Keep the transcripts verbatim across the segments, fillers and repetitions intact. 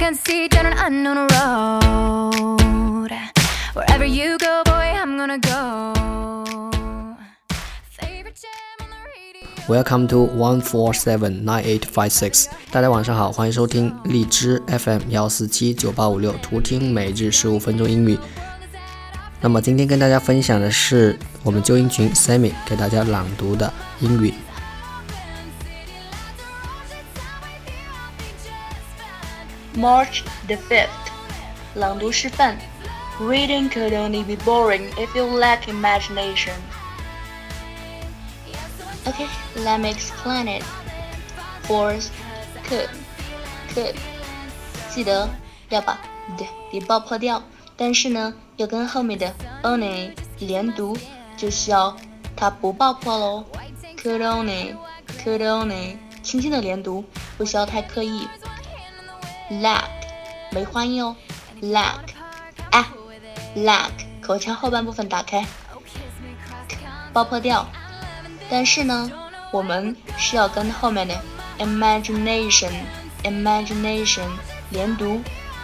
can't see down an unknown road. Wherever you go, boy, I'm gonna go. Favorite jam on the radio. Welcome to one four seven nine eight five six。大家晚上好，欢迎收听荔枝 F M 一四七九八五六，图听每日十五分钟英语。那么今天跟大家分享的是我们纠音群 Sammy 给大家朗读的英语。 March the fifth 朗读示范 Reading could only be boring if you lack imagination. Okay, let me explain it. Force could could 记得要把 d 给爆破掉，但是呢要跟后面的 only 连读，就需要它不爆破咯。 Could only could only 轻轻的连读，不需要太刻意。lack 梅花音哦 lack 啊 lack 口腔后半部分打开爆破掉，但是呢我们是要跟后面的 imagination imagination 连读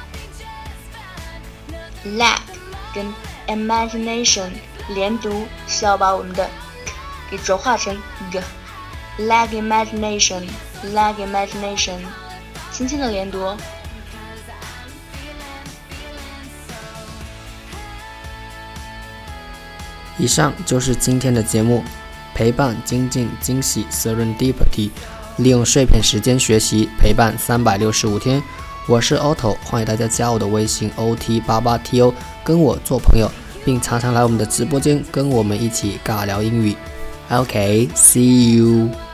lack 跟 imagination 连读是要把我们的 给浊化成 g lack imagination lack imagination 轻轻的连读哦。 以上就是今天的节目，陪伴、精进、惊喜 Serendipity， 利用碎片时间学习，陪伴三百六十五天。我是 Otto， 欢迎大家加我的微信 O T 八八 T O， 跟我做朋友，并常常来我们的直播间跟我们一起尬聊英语。OK，see you。